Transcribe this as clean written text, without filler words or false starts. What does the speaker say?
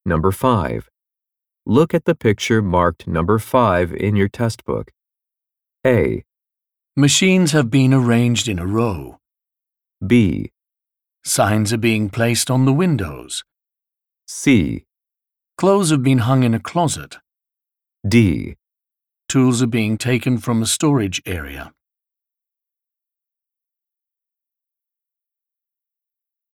Number 5. Look at the picture marked number 5 in your test book. A, Machines have been arranged in a row. B, Signs are being placed on the windows. C, Clothes have been hung in a closet. D. Tools are being taken from a storage area.